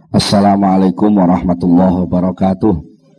Assalamualaikum warahmatullahi wabarakatuh.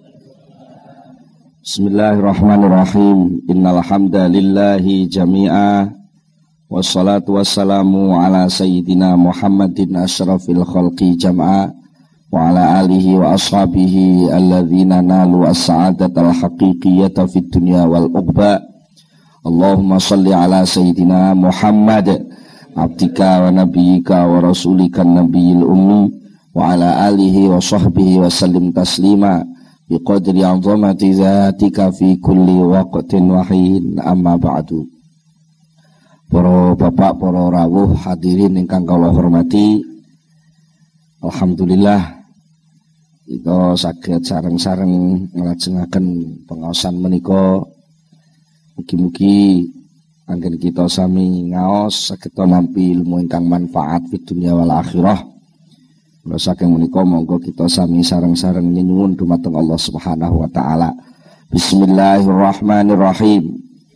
Bismillahirrahmanirrahim. Innal hamdalillahi jami'a wassalatu wassalamu ala sayyidina Muhammadin asyrafil khalqi jam'a wa ala alihi wa ashabihi alladzina nalu as-sa'adatal haqiqiyyata fid dunya wal uqba. Allahumma shalli ala sayyidina Muhammad abdika wa nabiyyika wa rasulika nabiyil ummi wa ala alihi wa sahbihi wa sallim taslima biqadri 'azamati zatika fi kulli waqtin wa hin, amma ba'du. Para bapak, para rawuh hadirin ingkang kula hormati, alhamdulillah kita saged sareng-sareng nglajengaken pengaosan menika. Mugi-mugi anggen kita sami ngaos saged nampi ilmu ingkang manfaat fid dunya wal akhirah. Kula saking menika monggo kita sami sareng-sareng nyuwun dumateng Allah Subhanahu wa taala. Bismillahirrahmanirrahim.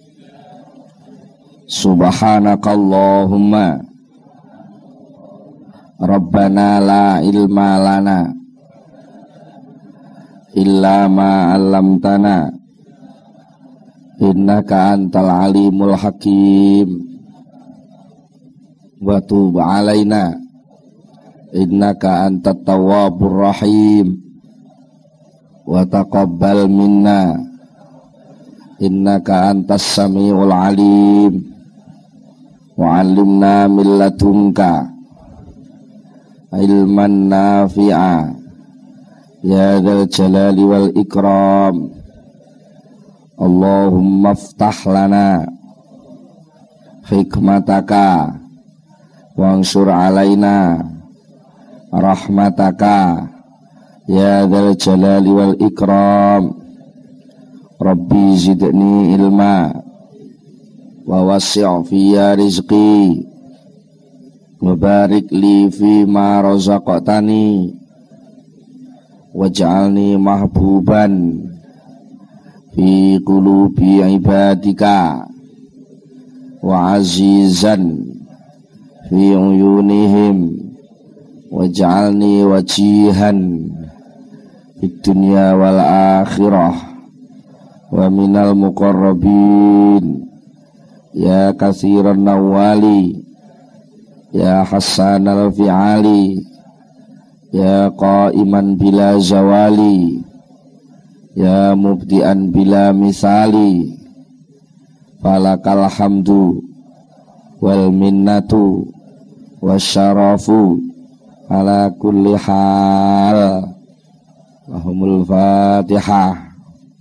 Subhanakallahumma Rabbana la ilma lana illa ma 'allamtana innaka antal alimul hakim wa tub alaina innaka antat tawwabur rahim wa taqabbal minna innaka antas samiul alim wa 'allimna min ladunka ilman nafi'a ya dzal jalali wal ikram. Allahumma aftah lana hikmataka wansur alaina rahmataka ya dzal jalali wal ikram. Rabbi zidni ilma wa wasi' fiyya rizqi wa barik li fi ma razaqtani waj'alni mahbuban fi qulubi ibadika wa azizan fi uyunihim waj'alni wajihan fid dunya wal akhirah wa minal muqarrabin ya katsiran nawali ya hasanal fi'ali ya qaiman bila zawali ya mubdi'an bila misali falakal hamdu wal minnatu wasyarafu ala kulli hal. Allahumul Fatihah.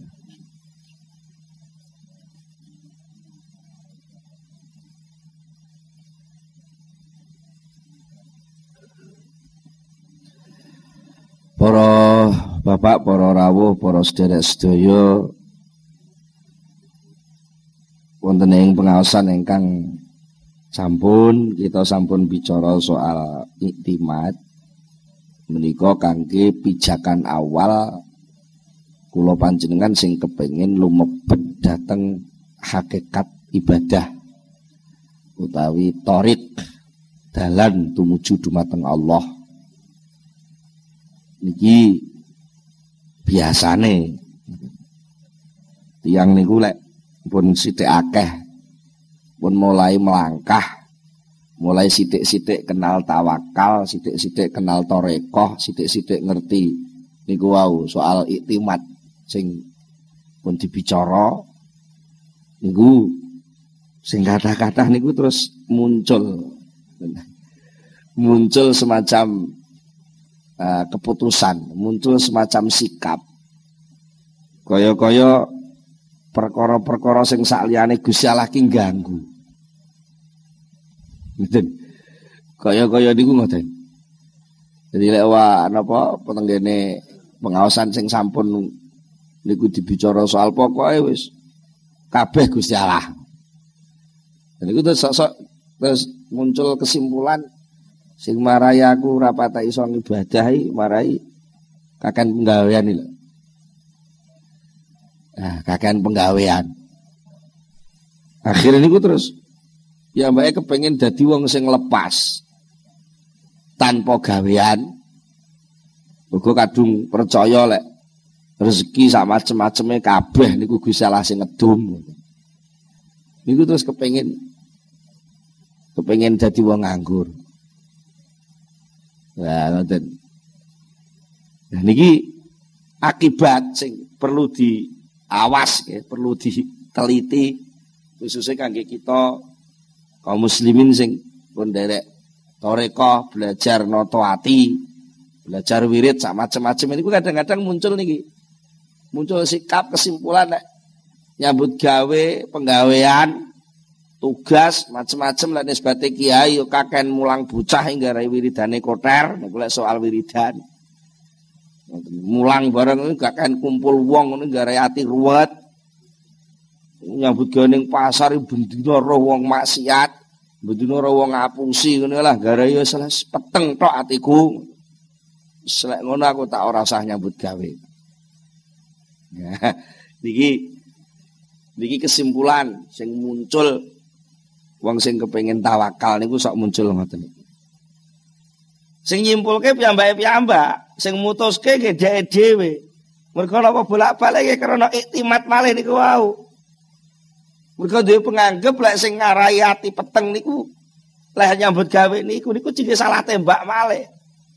Para bapak, para rawuh, para sedherek sedaya wonten ing pengaosan ingkang kita sampun bicara soal iktimat menika kangge pijakan awal kula panjenengan sing kepengin lumebet dhateng hakikat ibadah utawi thariq dalan tumuju dumateng Allah. Niki biasane tiyang niku lek pun sithik akeh pun mulai melangkah, mulai sithik-sithik kenal tawakal, sithik-sithik kenal tarekah, sithik-sithik ngerti niku wau soal iktimat sing pun dibicara niku sing kathah-kathah niku terus muncul semacam keputusan, muncul semacam sikap kaya-kaya perkara-perkara sing sakliyane Gusti Allah ki ganggu. Ngoten. Kaya-kaya niku ngoten. Jadi lek napa penenggene pengaosan sing sampun niku dibicara soal pokoke wis kabeh Gusti Allah. Dan niku terus muncul kesimpulan sing marai aku ora patah iso ngibadahi marai kakan penggawean iki lho. Nah, kakan penggawean. Akhirnya niku terus ya mbake kepengin dadi wong sing lepas tanpa gawean Uga kadung percaya lek rezeki sak macem-maceme kabeh niku Gusti Allah sing ngedum. Niku terus kepengin dadi wong nganggur. Nah, ngoten. Nah niki akibat sing perlu diawas ya, perlu diteliti khususnya kangge kita kaum muslimin sing pun derek toreko belajar noto ati, belajar wirid sak macam-macam ini kadang-kadang muncul sikap kesimpulan nek nyambut gawe penggawean tugas macam-macam lek nisbate kiai yo kaken mulang bocah hingga rai wiridane koter nek soal wiridan mulang bareng gak kaken kumpul wong ngono garai ati ruwet nyambut gawe ning pasar bendina roh wong maksiat bendina roh wong ngapusi ngono lah garai yo seles peteng tok atiku selek ngono aku tak ora usah nyambut gawe. Nah, niki kesimpulan sing muncul wong sing kepengin tawakal niku sok muncul ngoten niku. Sing nyimpulke piyambake-piyambak, sing mutuske nggih dheke dhewe. Mergo napa bolak-balik karena iktimat malih niku wau. Mergo dhewe penganggep lek sing ngarai ati peteng niku lek nyambut gawe niku jenenge salah tembak malih.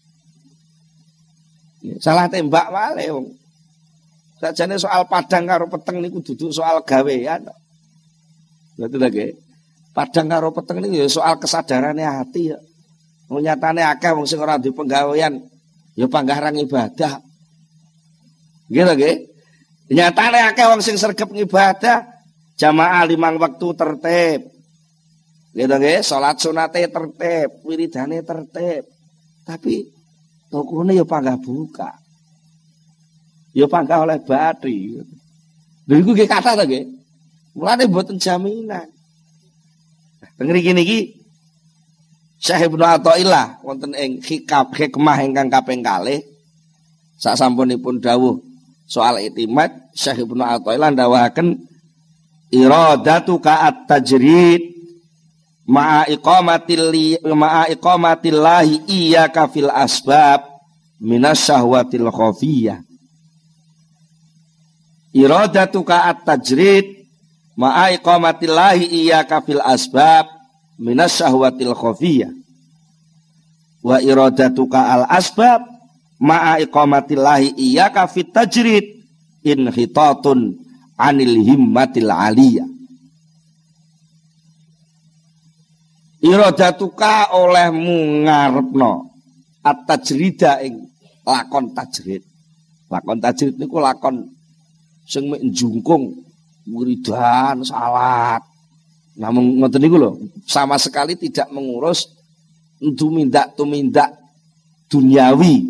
Salah tembak malih wong. Sajane soal padang karo peteng niku duduk soal gawean. Betul lagi. Padang karo peteng niku ya soal kesadarane hati ya. Wong nyatane akeh wong sing ora duwe penggawean ya panggarang ibadah. Nggih lho nggih. Nyatane akeh wong sing sregep ngibadah jamaah 5 waktu tertib. Nggih to nggih, salat sunate tertib, wiridane tertib. Tapi tokone ya panggah buka. Ya panggah oleh batri. Lha iku nggih kathah to nggih. Mulane mboten jaminan. Teng mriki niki Syekh Ibnu Athaillah wonten ing hikmah ingkang kaping kalih sasampunipun dawuh soal iktimat Syekh Ibnu Athaillah ndawuhaken iradatuka at-tajrid ma'a iqamatillahi iyyaka fil asbab minasyahwatil khafiyah. Iradatuka at-tajrid ma'a iqamatillahi iyyaka fil asbab minasyahwatil khafiyah. Wa iradatuka al asbab ma'a iqamatillahi iyyaka fit tajrid inhitatun anil himmatil aliyah. Iradatuka olehmu ngarepno at-tajrida ing lakon tajrid. Lakon tajrid niku lakon sing mek njungkung wiridan salat. Namun ngoten niku lho, sama sekali tidak mengurus tumindak duniawi.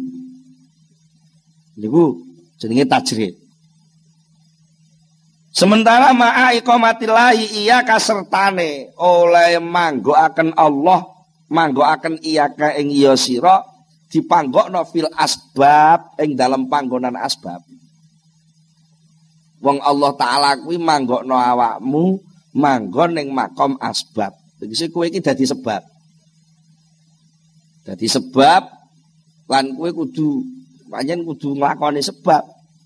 Niku jenenge tajrid. Sementara ma'a iqamatillahi iya kasertane oleh manggokaken Allah, manggokaken iya ka ing iya sira dipanggokno fil asbab ing dalam panggonan asbab. Wong Allah Ta'ala kuwi manggokno awakmu manggon ning makom asbab. Tegese kowe iki dadi sebab. Dadi sebab lan kowe kudu pancen kudu nglakoni sebab.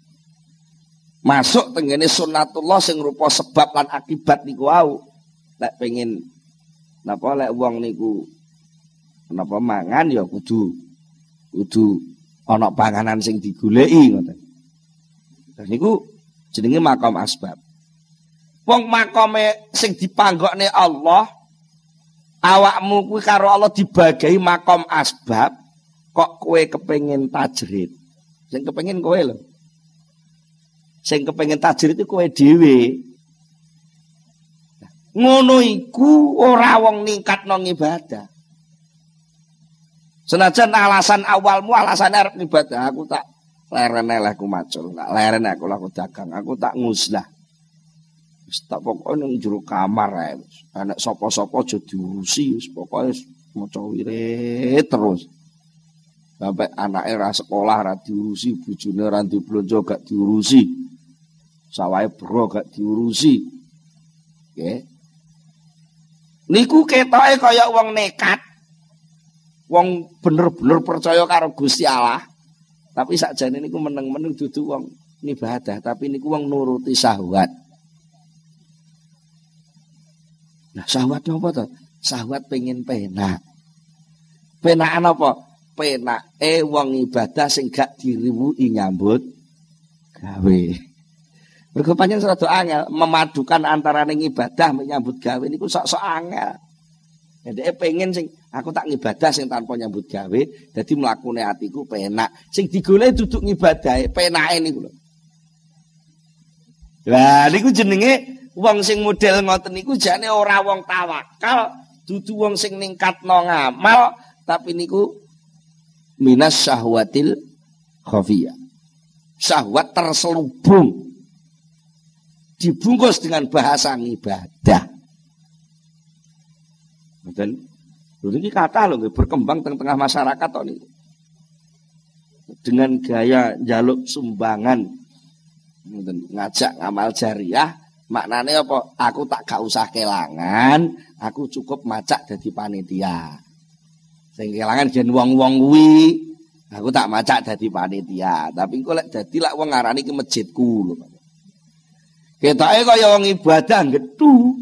Masuk tenggene sunnatullah sing rupa sebab lan akibat niku wau. Lek pengen napa lek wong niku napa mangan ya kudu ana panganan sing digoleki ngoten. Lah niku jenenge makom asbab. Wong makome sing dipanggokne Allah, awakmu kuwi karo Allah dibagi makom asbab, kok kowe kepengin tajrid. Sing kepengin kowe lho. Sing kepengin tajrid itu kowe dhewe. Ngono iku ora wong ningkatno ibadah. Senajan alasan awalmu alasan arep ibadah, aku tak leren aku macul, tak leren aku laku dagang, aku tak nguslah. Wis tak pokoke ning jero kamar ae. Anak sapa-sapa aja diurusi, wis pokoke maca wirid terus. Sampai anake ra sekolah ra diurusi, bojone ra diblonjo gak diurusi. Sawahe bro gak diurusi. Nggih. Niku ketoke kaya wong nekat. Wong bener-bener percaya karo Gusti Allah. Tapi sakjane niku meneng-meneng dudu wong ibadah, tapi niku wong nuruti syahwat. Nah, syahwat apa to? Syahwat pengen penak. Penakan apa? Penake wong ibadah sing gak diriwuhi nyambut gawe. Mergo pancen rada angel memadukan antara ning ibadah menyambut gawe niku sok-sok angel. Dhek pengen sing aku tak ngibadah sing tanpa nyambut gawe, dadi mlakune atiku penak. Sing digoleki duduk ngibadahe penake niku lho. Lah niku jenenge wong sing model ngoten niku jane ora wong tawakal, dudu wong sing ningkatno ngamal, tapi niku minas syahwatil khafiyah. Syahwat terselubung. Dibungkus dengan bahasa ibadah. Betul. Ini kata loh berkembang tengah masyarakat ini. Dengan gaya jaluk sumbangan, ngajak ngamal jariah, maknanya apa? Aku tak gak usah kelangan, aku cukup macak jadi panitia. Sing kelangan jen wong-wong kuwi, aku tak macak jadi panitia. Tapi engko lek dadi lak wong ngarani ke masjidku lho. Ketoke kaya wong ibadah gedhu.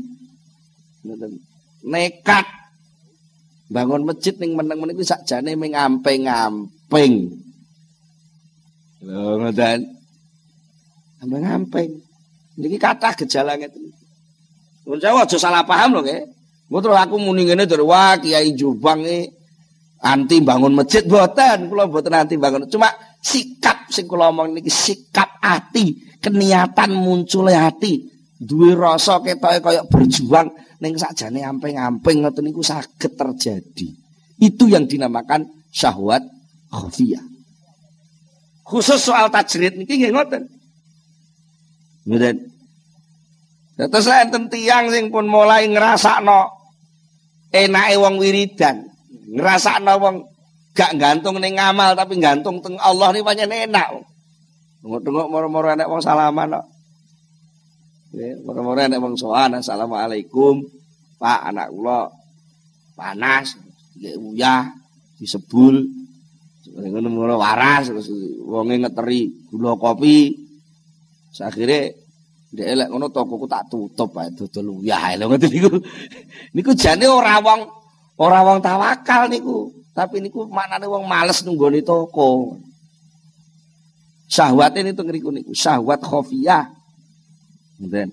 Nekat bangun masjid ning meneng-meneng kuwi sakjane ming amping-amping. Lho ngoten. Amping-amping. Niki kathah gejala ngeten. Mun saya aja salah paham lho nggih. Engko terus aku muni ngene terus wah Kiai Jombang iki anti bangun masjid mboten, kula mboten anti bangun. Cuma sikap sing kula omong niki sikap ati, keniatan munculnya hati, duwe rasa ketoke kaya berjuang ning sakjane amping-amping ngoten niku saged terjadi. Itu yang dinamakan syahwat khafiyah. Khusus soal tajrid niki nggih ngoten. Ngoten. Terus enten tiyang sing pun mulai ngrasakno enake wong wiridan. Ngrasakno wong gak gantung ning ngamal tapi gantung teng Allah ni pancen enak. Tengok-tengok moro-moro enek wong salaman kok. Nggih, moro-moro enek wong sowan, assalamualaikum. Pak, anak kula panas, nggih uyah, disebul. Ngono moro waras terus wonge ngeteri gula kopi. Sakhire ndek lek ngono tokoku tak tutup ae dodol uyah lho ngoten niku. Niku jane ora wong tawakal niku, tapi niku maknane wong males nunggoni toko. Syahwat ini tuh ngeriku niku, syahwat khafiyah. Ngoten.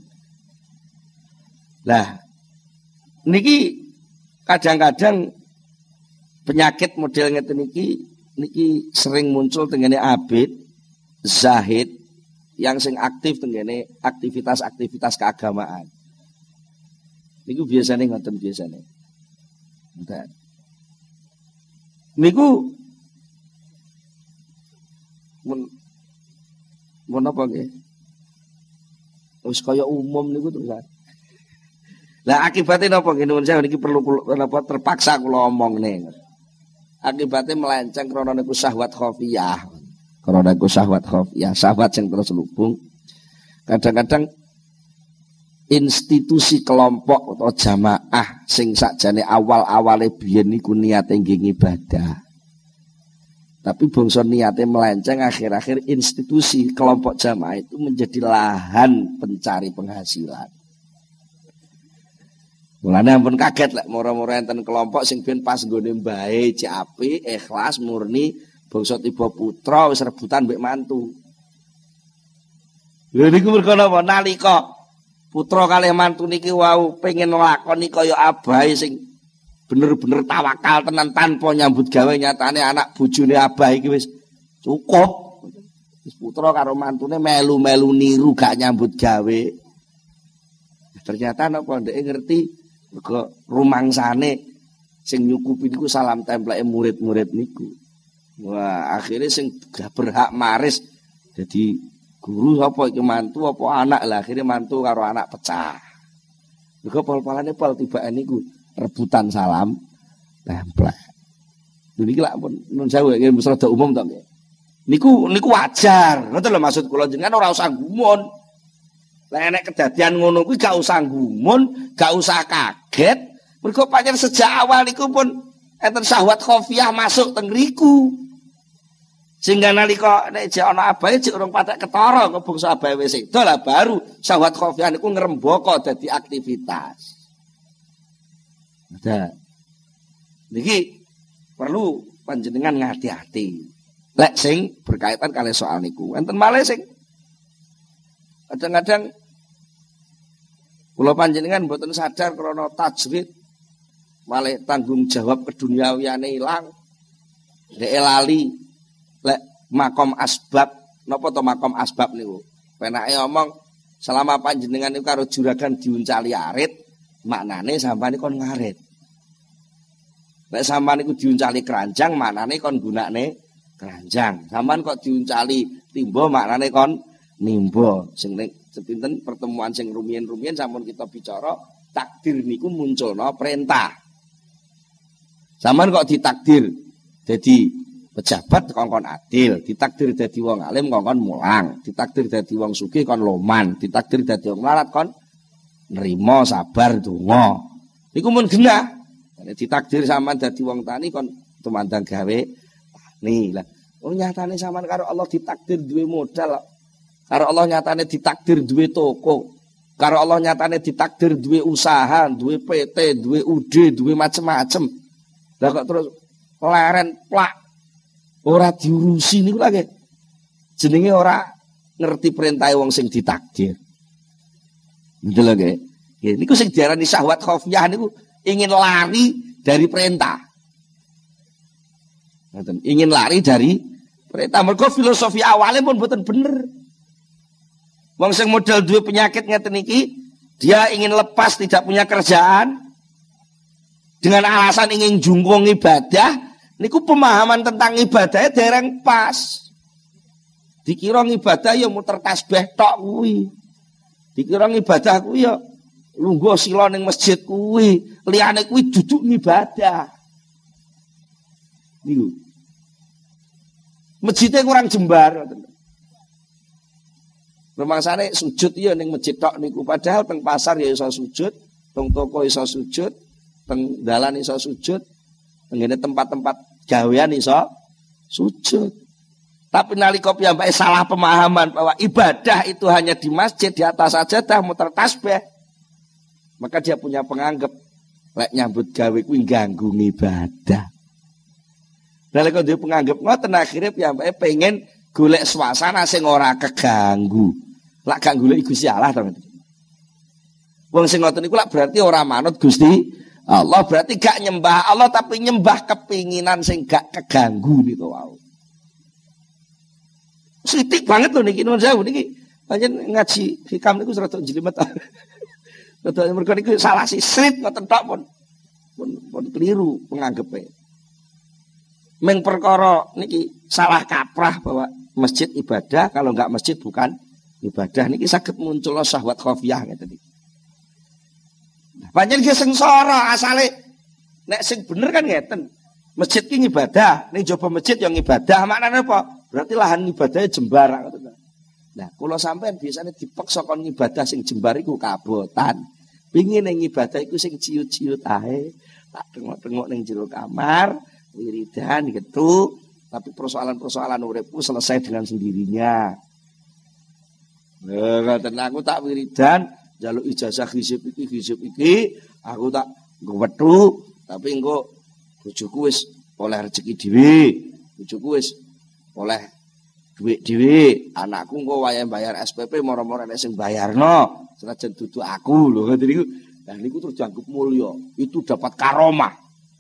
Lah niki kadang-kadang penyakit model ngeten niki sering muncul tengene abid, zahid yang sing aktif tengene aktivitas-aktivitas keagamaan. Niku biasane ngoten biasane. Ngoten. Niku mun apa nggih? Wis kaya umum niku terus. Lah akibatnya napa nggih nuwun sewu niki perlu napa terpaksa kula omongne. Akibatnya melenceng krana niku syahwat khafiyah. Krana niku syahwat khafiyah, syahwat sing terselubung. Kadang-kadang institusi kelompok atau jamaah sing sakjane awal-awale biyen niku niate nggih ibadah. Tapi bangsa niate melenceng, akhir-akhir institusi kelompok jamaah itu menjadi lahan pencari penghasilan. Mulane ampun kaget lek moro-moro enten kelompok sing ben pas nggone mbae cek apik, ikhlas, murni, bangsa tiba putra wis rebutan mbek mantu. Lha niku mergo napa? Nalika putra kalih mantu niki wau pengen nglakoni kaya abahe sing bener-bener tawakal tenan tanpa nyambut gawe, nyatane anak bojone abah iki wis cukup. Wis putra karo mantune melu-melu niru gak nyambut gawe. Ternyata napa ndeke ngerti mergo rumangsane sing nyukupi niku salam templeke murid-murid niku. Wah, akhirnya sing gak berhak maris jadi guru apa iki mantu apa anak lah, akhirnya mantu karo anak pecah. Mergo pol-polane pol tibake niku rebutan salam templek. Niki lak pun nun sewu nggih mesti rada umum to nggih. Niku wajar. Ngoten lho maksud kula jenengan ora usah gumun. Lah nek kedadian ngono kuwi gak usah gumun, gak usah kaget. Mergo pancen sejak awal niku pun enten syahwat khafiyah masuk teng riku. Sehingga nalika nek jek ana abahe jek urung patek ketara kok bangsa abahe wis sedo lah baru syahwat khafiyah niku ngrembaka dadi aktivitas. Ada. Niki perlu panjenengan ngati-hati. Lek sing berkaitan kali soal niku. Enten malih sing kadang-kadang kula panjenengan mboten sadar krana tajrid malih tanggung jawab keduniawiyane ilang. Nek lali lek makom asbab napa to makom asbab niku. Penake omong selama panjenengan niku karo juragan diuncali arit, maknane sampeyan kon ngarit. Nek sampean niku diuncali keranjang, maknane kon gunakne keranjang. Sampean kok diuncali timba, maknane kon nimba. Sing ning sepinten pertemuan sing rumiyin-rumiyin sampun kita bicara, takdir niku munculna perintah. Sampean kok ditakdir dadi pejabat kongkon adil, ditakdir dadi wong alim kongkon mulang, ditakdir dadi wong sugih kon loman, ditakdir dadi wong larat kon nrimo sabar donga. Niku mun genah. Ditakdir sampean dadi wong tani kon tumandang gawe tani. Lah, nyatane sampean karo Allah ditakdir duwe modal. Karo Allah nyatane ditakdir duwe toko. Karo Allah nyatane ditakdir duwe usaha, duwe PT, duwe UD, duwe macem-macem. Lah kok terus leren plak ora diurusi niku lagi. Jenenge ora ngerti perintah wong sing ditakdir. Betul lagi. Ya niku sing diarani syahwat khafiyah niku ingin lari dari perintah. Ingin lari dari perintah. Mergo filosofi awalnya pun mboten bener. Wong sing modal duwe penyakit ngeten iki, dia ingin lepas tidak punya kerjaan dengan alasan ingin jungkung ibadah, niku pemahaman tentang ibadahnya dereng pas. Dikira ibadah ya muter tasbih tok kuwi. Dikira ibadah kuwi ya lungguh sila ning masjid kuwi, liyane kuwi duduk ngibadah. Niku. Masjidnya kurang jembar. Rumangsane sujud ya ning masjid tok niku, padahal teng pasar ya iso sujud, teng toko iso sujud, teng dalan iso sujud, teng tempat-tempat gawean iso sujud. Tapi nalika piyambake salah pemahaman bahwa ibadah itu hanya di masjid di atas sajadah muter tasbih. Maka dia punya penganggap lek nyambut gawe kuwi ganggu ibadah. Nalika dia penganggap ngoten akhire piyambake pengen golek suasana sing ora keganggu. Lak gak golek Gusti Allah to. Wong sing ngoten niku lak berarti ora manut Gusti Allah, berarti gak nyembah Allah tapi nyembah kepinginan sing gak keganggu niku wae. Sithik banget lho niki nuwun sewu niki. Pancen ngaji hikam niku rada jelimet. Betul, mereka ini salah sisrit ngoten tok pun keliru penganggepe. Meng perkara niki salah kaprah bahwa masjid ibadah, kalau enggak masjid bukan ibadah. Niki saged muncul syahwat khafiyah ngeten iki. Pancen ki sengsara asale nek sing bener kan ngeten. Masjid ki ibadah, ning jaba masjid yang ibadah. Maknane apa? Berarti lahan ibadahnya jembar ngoten. Nah, kula sampean biasanya dipaksa kon ibadah sing jembar iku kabotan. Pingin ning ibadah iku sing ciut-ciut ae, tak tengok-tengok ning jero kamar, wiridan gitu, tapi persoalan-persoalan uripku selesai dengan sendirinya. Ngoten aku tak wiridan, njaluk ijazah hizib iki, aku tak ngwethu, tapi engko bojoku wis oleh rezeki dhewe, bojoku wis oleh duit dhewe, anakku engko wayahe bayar SPP moro-moro nek sing bayarno. Senajan dudu aku lho ngoten niku. Lah niku terus dianggap mulya. Itu dapat karomah.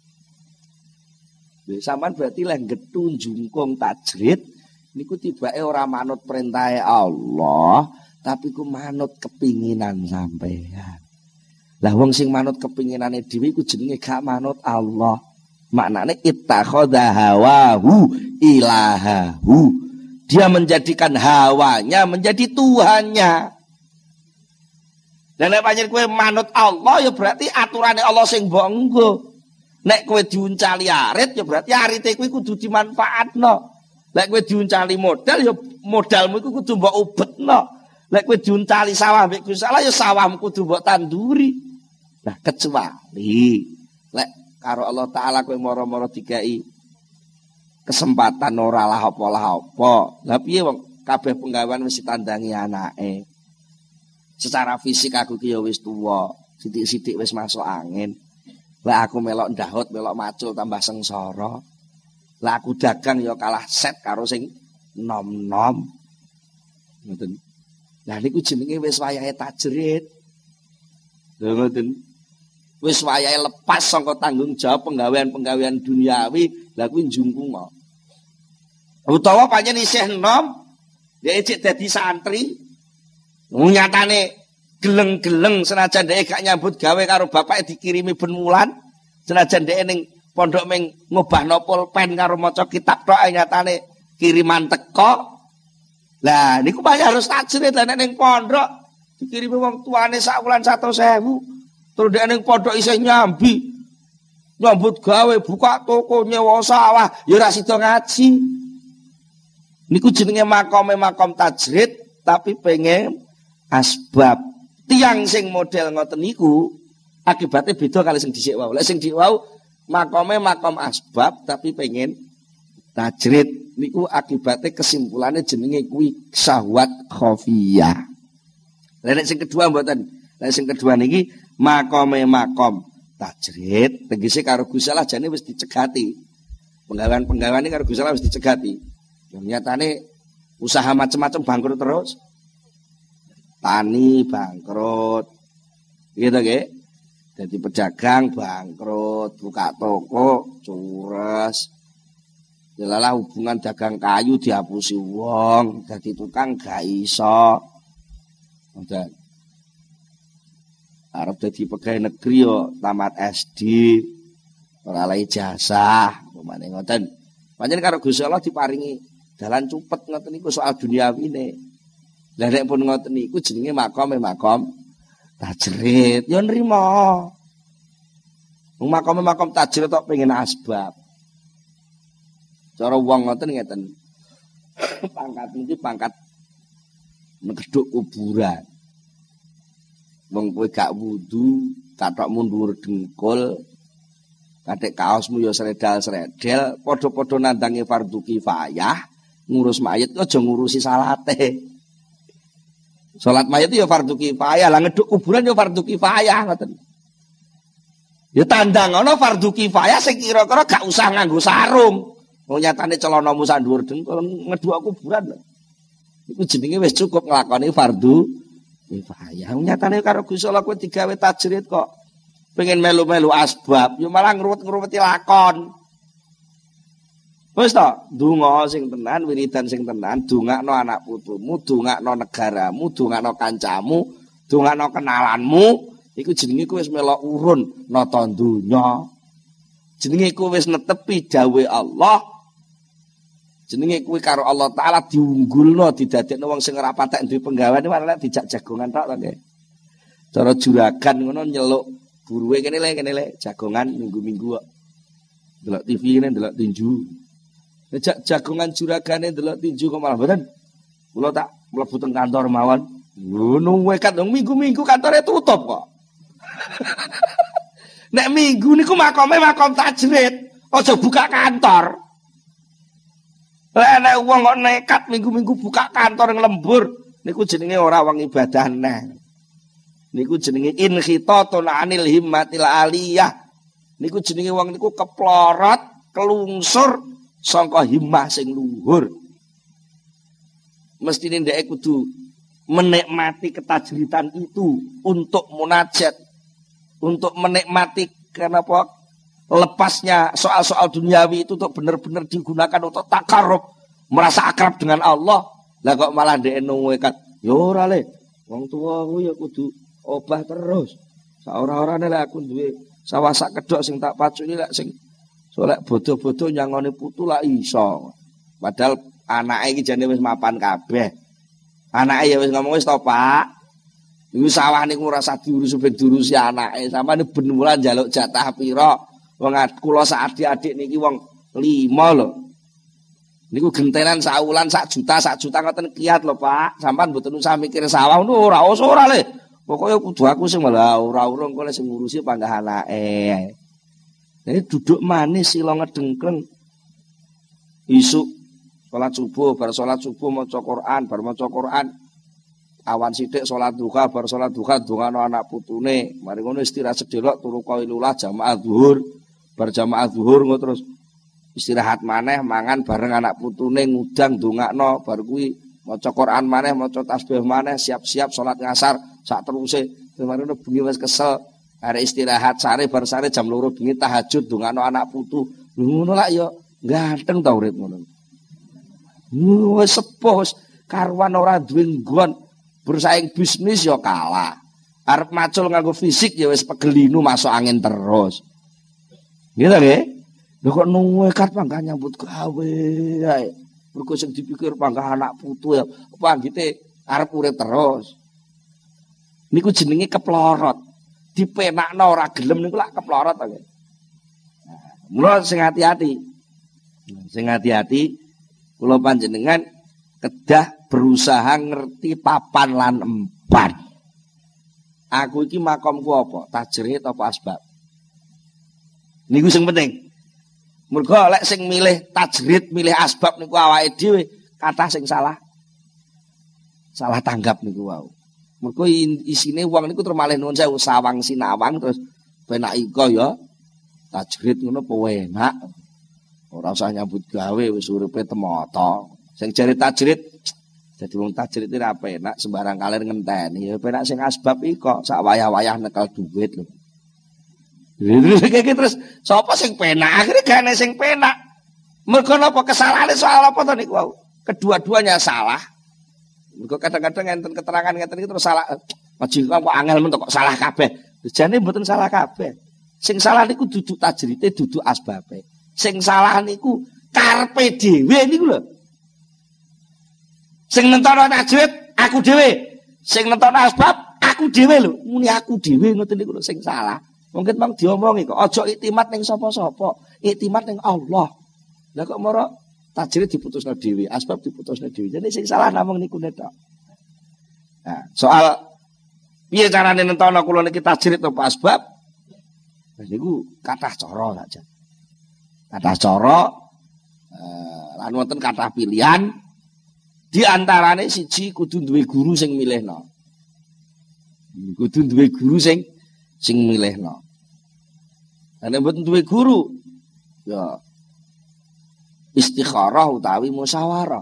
Lha sampean berarti lek gethu jungkung tajrid niku tibake ora manut perintahe Allah, tapi ku manut kepinginan sampean. Lah wong sing manut kepinginane dhewe iku jenenge gak manut Allah. Maknane ittakhadha hawahu ilahahu. Dia menjadikan hawanya menjadi Tuhannya. Dan nek pancen kowe manut Allah ya berarti aturane Allah sing mbok enggo. Nek kowe diuncali arit ya berarti arite kuwi kudu dimanfaatno. Nek kowe diuncali modal ya modalmu iku kudu mbok ubetno. Nek kowe diuncali sawah mbek Gusti Allah ya sawahmu kudu mbok tanduri. Nah kecuali lek karo Allah taala kowe moro-moro dikai kesempatan ora lah apa. Lah piye wong kabeh penggawean wis ditandangi anake. Secara fisik aku ki ya wis tuwa, sithik-sithik wis masuk angin. Lah aku melok ndahut, melok macul tambah sengsara. Lah aku dagang ya kalah set karo sing nom-nom. Ngoten. Lah niku jenenge wis wayahe tajrid. Lha ngoten. Wis wayahe lepas saka tanggung jawab penggawean-penggawean duniawi, lah kuwi njungkung. Utawa pancen isih enom, dhek cek dadi santri. Nyatane geleng-geleng senajan dhek gak nyambut gawe karo bapake dikirimi ben wulan, senajan dhek ning pondok meng ngobahno pulpen karo maca kitab tok nyatane kiriman teko. Lah niku pancen harus tajrid lah nek ning pondok dikirimi wong tuane sak wulan 100.000. Terus dia ning pondok isih nyambut gawe, buka toko, nyewa sawah, ya ora sida ngaji. Niku jenenge makom tajrid, tapi pengen asbab. Tiang sing model ngoten niku akibatnya beda kali sing dhisik wau. Lek sing dhisik wau makom asbab tapi pengen tajrid. Niku akibatnya kesimpulannya jenenge kuwi syahwat khafiyah. Lek sing kedua mboten. Lek sing kedua niki makom tajrid tegese karo Gusti Allah jane wis dicegati. Penggawean iki karo Gusti Allah wis dicegati. Ya nyatane usaha macam-macam bangkrut terus. Tani bangkrut. Gitu nggih. Dadi pedagang bangkrut, buka toko cures. Delalah hubungan dagang kayu dihapusi wong, dadi tukang gak iso. Ngoten. Arep dadi pegawai negeri yo tamat SD, ora oleh ijazah, pemane ngoten. Pancen karo Gusti Allah diparingi dalan cupet ngoten niku soal duniawine. Lah nek pun ngoten niku jenenge makom tajrid, yo nrimo. Wong makom tajrid tok pengen asbab. Cara wong ngoten ngeten. Pangkat niki pangkat ngeduk kuburan. Wong kowe gak wudu, kathok mundur dengkul, kathek kaosmu ya sredal-sredel, padha-padha nandangi fardhu kifayah, ngurus mayit aja ngurusi salate. Salat mayit ya fardhu kifayah, lah ngeduk kuburan ya fardhu kifayah ngoten. Ya tandangana fardhu kifayah sing kira-kira gak usah nganggo sarung. Wong nyatane celanamu sak dhuwur dengkul ngeduk kuburan lho. Iku jenenge wis cukup nglakoni fardhu kifayah. Nyatane karo Gusti Allah kowe digawe tajrid kok pengen melu-melu asbab, yo malah ngruwet-ngruweti lakon. Wis to, donga sing tenan, wiridan sing tenan, dongakno anak putumu, dongakno negaramu, dongakno kancamu, dongakno kenalanmu, iku jenenge kowe wis melok urun nata donya. Jenenge kowe wis netepi dawuhe Allah. Jenenge kuwi karo Allah Taala diunggulno didadekno wong sing ora patek duwe penggawean malah dijak jagongan tok to nggih. Cara juragan ngono nyeluk buruwe kene le jagongan minggu-minggu kok. Delok TV kene delok tinju. Nek jagongan juragane delok tinju kok malah mboten. Kula tak mlebu teng kantor mawon. Ngono wekat dong minggu-minggu kantore tutup kok. Nek minggu niku makom tajrid, aja buka kantor. Lah nek wong kok nekat minggu-minggu buka kantor nglembur, niku jenenge ora wong ibadah neh. Niku jenenge inkhitatun anil himmatil aliyah. Niku jenenge wong niku keplorot, kelungsur saka himmah sing luhur. Mestine ndeke kudu menikmati ketajridan itu untuk munajat, untuk menikmati kenapa lepasnya soal-soal duniawi itu untuk benar-benar digunakan untuk takarrub, merasa akrab dengan Allah. Lah kok malah ndek nuwekat, ya ora le. Wong tuwa kuwi ya kudu obah terus. Saora-orane lek aku duwe sawah sak kedhok sing tak pacuni lek sing solek bodo-bodo nyangone putu lak iso. Padahal anake iki jane wis mapan kabeh. Anake ya wis ngomong wis to, Pak. Iku sawah niku ora usah diurus ben diurusi anake. Sampeyan ben wulan njaluk jatah pira? Wong kula sak adik-adik niki wong 5 lho. Niku gentenan sak wulan sak juta ngoten kiat lho, Pak. Sampeyan mboten usah mikir sawah ngono ora le. Pokoke kudu aku sing malah ora urung kok sing ngurusi panggah anake. Dadi duduk manis sila ngedengkleng. isuk salat subuh, bar salat subuh maca Quran, bar maca Quran awan sithik salat duha, bar salat duha ndongano anak putune, mari ngono istirahat sedelok turu qailula jamaah zuhur, bar jamaah zuhur ngono terus istirahat maneh mangan bareng anak putune ngudang ndongakno bar kuwi maca Quran maneh maca tasbih maneh siap-siap salat ngasar sak teruse mari ngono bengi wis kesel arek istirahat sare bar sare jam 2 bengi tahajud ndongakno anak putu ngono lak ya ganteng ta urip ngono wis sepuh karuan ora duwe nggon bersaing bisnis ya kalah arep macul nganggo fisik ya wis pegelinu masuk angin terus gitu nggih. Lha kok nekat pangkah nyambut gawe ae. Mergo sing dipikir pangkah anak putu ya panggite arep urip terus. Niku jenenge keplorot. Dipenakno ora gelem niku lak keplorot to. Mula sing hati-hati. Sing hati-hati kula panjenengan kedah berusaha ngerti papan lan empan. Aku iki makomku apa? Tajrid apa asbab? Niku sing penting. Mergo lek sing milih tajrid, milih asbab niku awake dhewe, kathah sing salah. Salah tanggap niku wau. Mergo isine wong niku termalih nuwun sewu sawang sinawang terus penak iko ya tajrid ngono penak. Ora usah nyambut gawe wis uripe temoto. Sing jare tajrid dadi wong tajrid iki ora penak sembarang kalir ngenteni. Ya penak sing asbab iko sak wayah-wayah nekel duit lho. Terus sapa sing penak? Akhirnya gak ana sing penak. Mergo napa kesalahane soal apa to niku wau? Kedua-duanya salah. Mergo kadang-kadang enten keterangan ngeten iki terus salah. Majikan kok angel men kok salah kabeh. Jane mboten salah kabeh. Sing salah niku duduk tajrite, duduk asbabe. Sing salah niku karepe dhewe niku lho. Sing nentono tajrid aku dhewe. Sing nentono asbab aku dhewe lho. Muni aku dhewe ngoten niku lho sing salah. Mungkin bang diomongi kok aja iktimat ning sapa-sapa, iktimat ning Allah. Lah kok moro tajrid diputusno dhewe, asbab diputusno dhewe. Jadi sing salah namung niku tok. Nah, soal piye carane nentono kula niki tajrid apa asbab? Niku kathah cara saja. Kathah cara lan wonten kathah pilihan. Di antarane siji kudu duwe guru sing milihno. Kudu duwe guru sing milihno. Nek mboten duwe guru ya istikharah utawi musyawarah.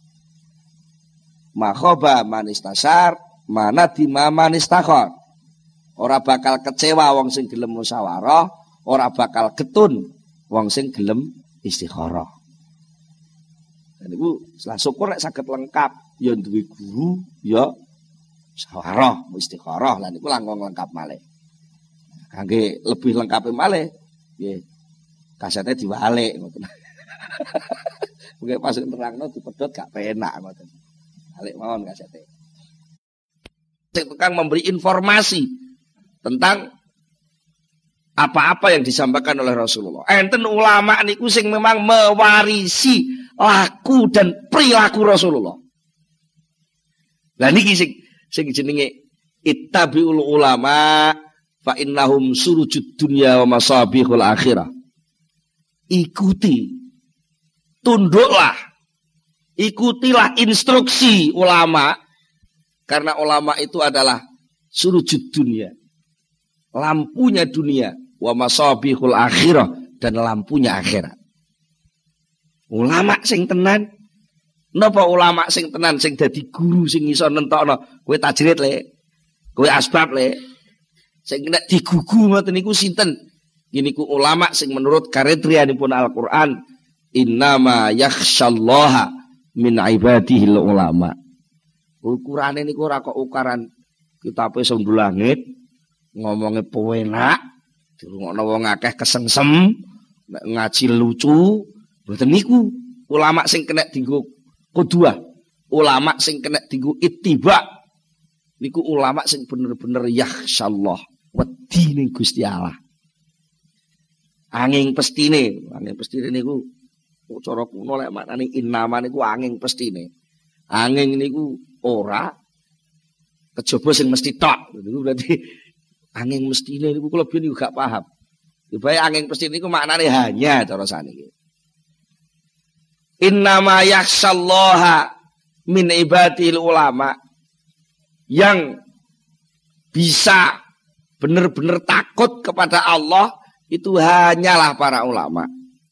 Makhoba manistasar mana dima manistakhar. Ora bakal kecewa wong sing gelem musyawarah, ora bakal getun wong sing gelem istikharah. Dan niku salah syukur nek saged lengkap ya duwe guru ya musyawarah, istikharah lan niku langkung lengkap malih. Kangge lebih lengkap malih nggih kasete diwalik ngoten. Mungkin pas nerangno dipedhot gak penak ngoten. Balik mawon kasete. Tukang memberi informasi tentang apa-apa yang disampaikan oleh Rasulullah. Enten ulama niku sing memang mewarisi laku dan perilaku Rasulullah. Lah niki sing jenenge ittabiul ulama fa innahum surujud dunya wa masabihul akhirah. Ikuti, tunduklah, ikutilah instruksi ulama, karena ulama itu adalah surujud dunia, lampunya dunia, wa masabihul akhirah, dan lampunya akhirat. Ulama sing tenan, napa ulama sing tenan, sing dadi guru, sing iso nentokno, kowe tajrid le, kowe asbab le. Sing nek digugu ngoten niku sinten? Niku ulama sing menurut kriterianipun Al-Qur'an innama yakhsyallaha min ibadihil ulama. Ukurane niku ora kok ukuran kitabe sing langit ngomongnya penak, dirungokno wong akeh kesengsem, nek ngaji lucu, mboten niku ulama sing kena dienggo qudwah, ulama sing kena dienggo ittiba. Niku ulama sing bener-bener yakhsyallah. Wedi ning Gusti Allah. Anging pestine niku cara kuno lek maknane innama niku anging pestine. Anging niku ora kejaba sing mesti tok. Niku berarti anging mestine niku kula biyen gak paham. Ibae anging pestine niku maknane hanya cara saniki. Innama yakhsyallaha min ibadil ulama. Yang bisa benar-benar takut kepada Allah itu hanyalah para ulama.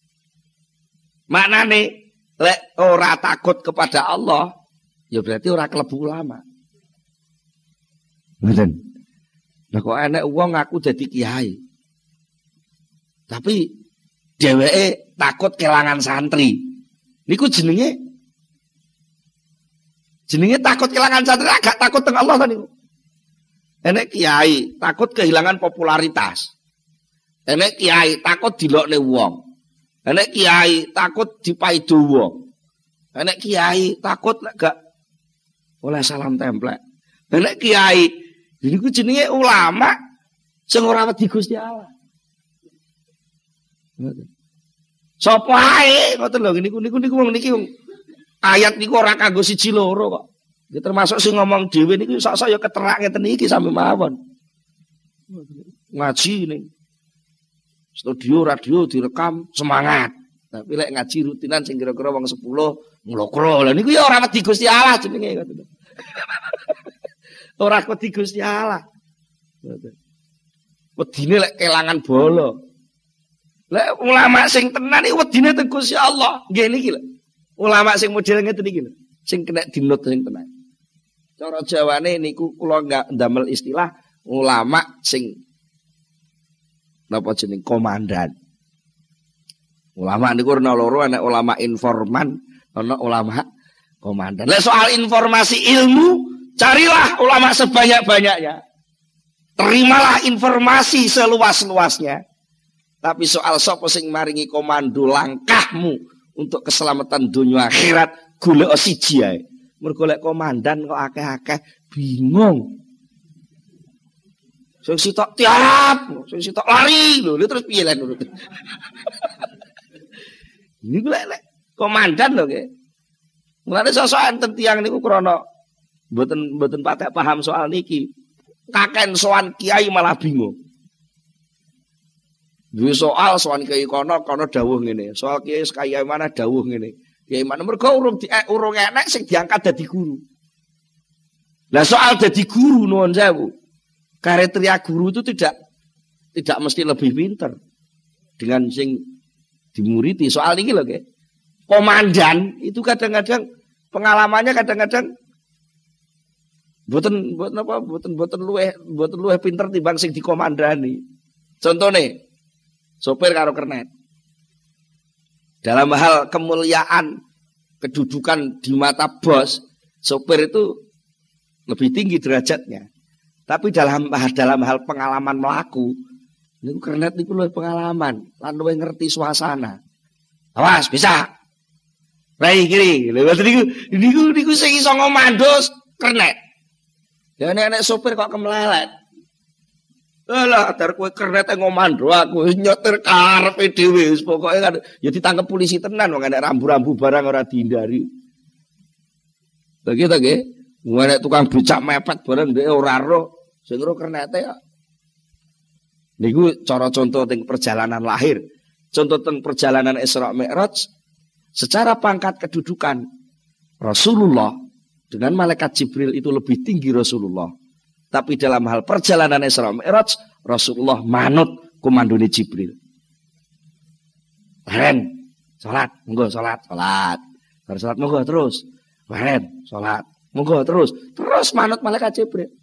Maknane lek ora takut kepada Allah, ya berarti ora klebu ulama. Ngoten. Lah kok enek wong ngaku dadi kiai. Tapi dheweke takut kelangan santri. Niku jenenge takut kelangan santri, agak takut teng Allah ta niku. Enek kiai takut kehilangan popularitas. Enek kiai takut dilokne wong. Enek kiai takut dipaido wong. Enek kiai takut lek gak oleh salam templek. Enek kiai niku jenenge ulama sing ora wedi Gusti Allah. Sapa ae ngoten lho niku wong niki ayat niku ora kanggo siji loro kok. Ya termasuk sing ngomong dhewe niku sok-sok ya keterak ngeten iki sampe mawon. Ngaji ning studio radio direkam semangat. Tapi lek ngaji rutinan sing kira-kira wong 10 nglokro. Lah niku ya ora wedi Gusti Allah jenenge ngoten. Ora wedi Gusti Allah. Wedine lek kelangan bolo. Lek ulama sing tenan iki wedine teng Gusti Allah. Nggih niki lho. Ulama sing model ngeten iki lho. Sing kena dinut sing tenan. Cara Jawane niku kula enggak ndamel istilah ulama sing napa jeneng komandan. Ulama niku ana loro, ana ulama informan, ana ulama komandan. Lek soal informasi ilmu, carilah ulama sebanyak-banyaknya. Terimalah informasi seluas-luasnya. Tapi soal sapa sing maringi komando langkahmu untuk keselamatan dunia akhirat, golek siji ae. Mergo lek komandan kok akeh-akeh bingung. Sing sitok tiap, sing sitok lari lho, terus piye lan urut. Niku lek komandan lho nggih. Mulane sosok enten tiyang niku krana mboten patek paham soal niki. Kaken sowan kiai malah bingung. Duwe soal sowan kiai kono dawuh ngene. Soal kiai sekaya mana dawuh ngene. Kiai mana mergo urung enek sing diangkat dadi guru. Lah soal dadi guru nuwun sewu. Kriteria guru itu tidak mesti lebih pinter dengan sing dimuriti. Soal ini loh, komandan itu kadang-kadang pengalamannya kadang-kadang boten luweh pinter timbang sing dikomandani. Contohnya sopir karo kernet. Dalam hal kemuliaan kedudukan di mata bos, sopir itu lebih tinggi derajatnya. Tapi dalam hal pengalaman melaku, niku kernet niku luwih pengalaman, lan luwih ngerti suasana. Awas, bisa. Rai kiri, lewat niku sing iso ngomando kernet. Ya nek sopir kok kemelelet. Alah, dar kowe kernet ngomando aku nyetir karepe dhewe wis pokoke kan ya ditangkep polisi tenan wong enek rambu-rambu barang ora dihindari. Lagi ta nggih? Nek tukang becak mepet bareng dhek ora roh, sing roh kernete ya. Niku cara contoh teng perjalanan lahir. Contoh teng perjalanan Isra Mi'raj secara pangkat kedudukan Rasulullah dengan malaikat Jibril itu lebih tinggi Rasulullah. Tapi dalam hal perjalanan Isra Mi'raj, Rasulullah manut komandone Jibril. Baren, salat, monggo salat. Bar salat monggo terus. Baren, salat, monggo terus. Terus manut malaikat Jibril.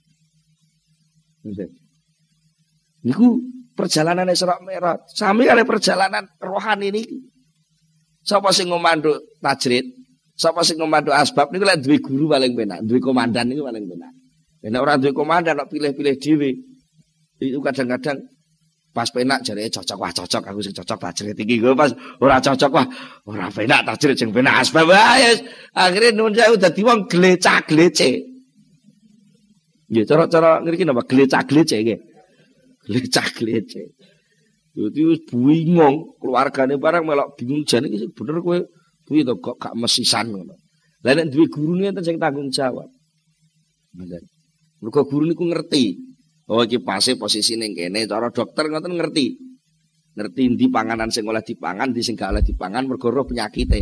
Niku perjalanan Isra Mi'raj. Sami kali perjalanan rohani niki. Sapa sing ngomando tajrid, sapa sing ngomando asbab niku lek duwe guru paling penak, duwe komandan niku paling penak. Nek ora duwe komandan kok pilih-pilih dhewe. Itu kadang-kadang pas penak jarene cocok aku sing cocok tajrid iki. Pas ora cocok wah ora penak tajrid sing penak asbab wae. Akhire nuwun sewu dadi wong glecak-glece. Nggih, cara ngriki napa glecak-glece nggih. Glecak-glece. Dadi wis bingung, keluargane barang melok bingung jane iki bener kowe kuwi to kok gak mesisan ngono. Lah nek duwe guru enten sing tanggung jawab. Ngoten. Mergo guru niku ngerti. Oh iki pase posisi ning kene, cara dokter ngoten ngerti. Ngerti ndi panganan sing oleh dipangan, ndi sing gak oleh dipangan mergo roh penyakite.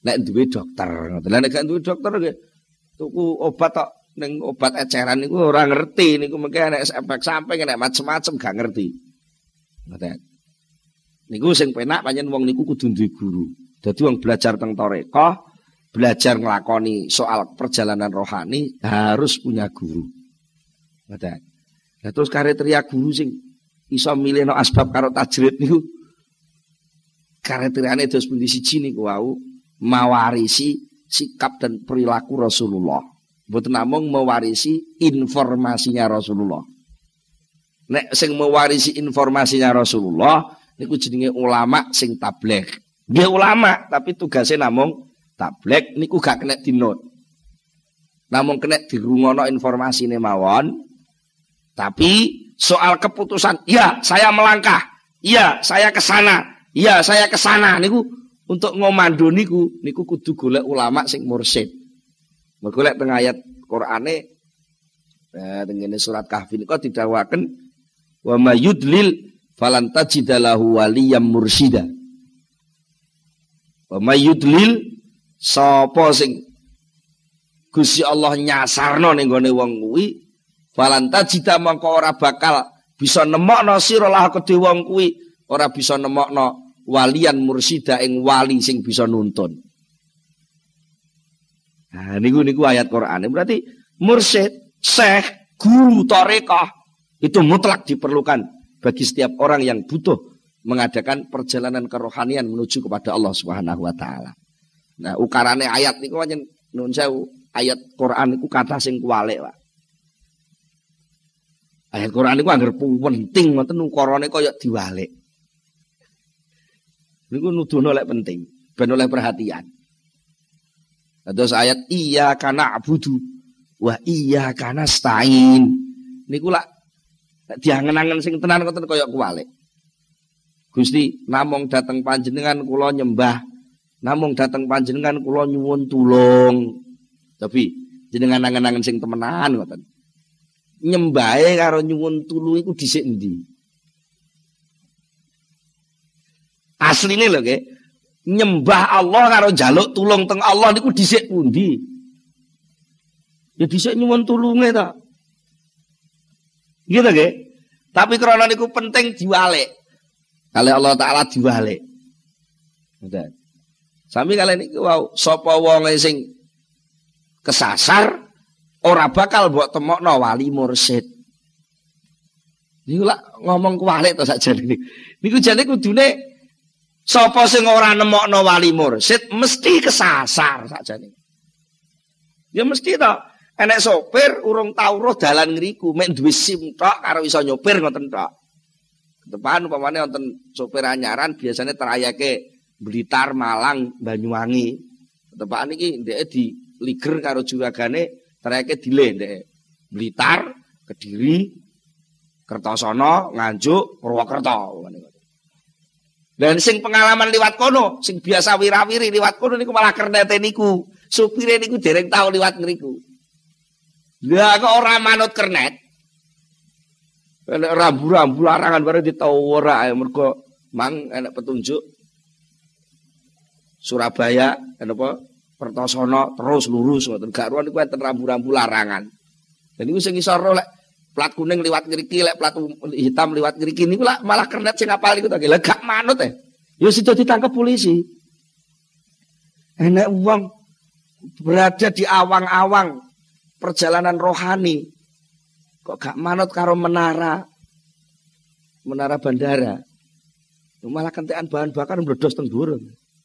nek duwe dokter. Lah nek gak duwe dokter nggih tuku obat tok ning obat eceran niku ora ngerti niku mengke nek efek samping nek macem-macem gak ngerti. Ngoten. Niku sing penak pancen wong niku kudu duwe guru. Dadi wong belajar teng tarekah, belajar nglakoni soal perjalanan rohani harus punya guru. Ngoten. Lah terus kriteria guru sing iso milihno asbab karo tajrid niku kriteriane dos pundi siji niku wau mawarisi sikap dan perilaku Rasulullah. Mboten namung mewarisi informasinya Rasulullah. Nek sing mewarisi informasinya Rasulullah niku jenenge ulama sing tabligh. Nggih ulama tapi tugasnya namung tabligh niku gak kena dinot. Namung kena dirungono informasine mawon. Tapi soal keputusan, ya saya melangkah, ya saya ke sana, ya saya ke sana niku untuk ngomando niku kudu golek ulama sing mursyid. Golek teng ayat Qur'ane tengene surat Kahfi niku didhawaken wa mayudlil falan tajidalahu waliyam mursyida. Wa mayudlil sapa sing Gusti Allah nyasarno ning gone wong kuwi falan tajida mangko ora bakal bisa nemokno sira lah kedhe wong kuwi ora bisa nemokno walian mursida ing wali sing bisa nuntun. Nah niku ayat Qur'an. Berarti mursyid, syekh, guru tarekah itu mutlak diperlukan bagi setiap orang yang butuh mengadakan perjalanan kerohanian menuju kepada Allah Subhanahu wa taala. Nah, ukarane ayat niku pancen nuwun sewu, ayat Qur'an niku kata sing kuwalik, Pak. Ayat Quran itu anggar penting, ngoten ukarane kaya diwalik. Niku nuduhno lek penting, ben oleh perhatian. Terus ayat iyyaka na'budu wa iyyaka nasta'in. Niku lak diangen-angen sing tenan ngoten kaya kuwalik. Gusti, namung dateng panjenengan kula nyembah, namung dateng panjenengan kula nyuwun tulung. Tapi jenengan angen-angen sing temenan ngoten. Nyembahe karo nyuwun tulung iku dhisik endi? Asline lho nggih. Nyembah Allah karo njaluk tulung teng Allah niku dhisik pundi? Ya dhisik nyuwun tulunge ta. Gitu nggih. Tapi krana niku penting diwalik. Kali Allah taala diwalik. Ngoten. Sami kali niku wau sapa wonge sing kesasar ora bakal mbok temokno wali mursyid. Niku lak ngomong kuwalik to sakjane. Niku jane kudune sapa sing ora nemokno wali mursyid mesti kesasar sakjane. Ya mesti to. Enek sopir urung tau roh dalan ngriku, mek duwe SIM tok karo iso nyopir ngoten tok. Depan umpamane wonten sopir anyaran biasanya trayeke Blitar, Malang, Banyuwangi. Tepakan iki ndeke diliger karo juragane trayeke dileh ndeke. Blitar, Kediri, Kertosono, Nganjuk, Purwokerto. Dan sing pengalaman liwat kono, sing biasa wirawiri liwat kono niku malah kernete niku. Supire niku dereng tau liwat ngriku. Lah kok ora manut kernet. Enek rambu-rambu larangan bareng ditau ora mergo mang enek petunjuk Surabaya apa Kertosono terus lurus ngoten gak ruan niku enten rambu-rambu larangan. Dan niku sing iso ro lek plat kuning liwat ngriki lek plat hitam liwat ngriki niku malah kernet sing apal niku to lha gak manut ya sida ditangkap polisi. Enek wong berada di awang-awang perjalanan rohani kok gak manut karo menara bandara. Malah kentekan bahan bakar mbledos teng dhuwur.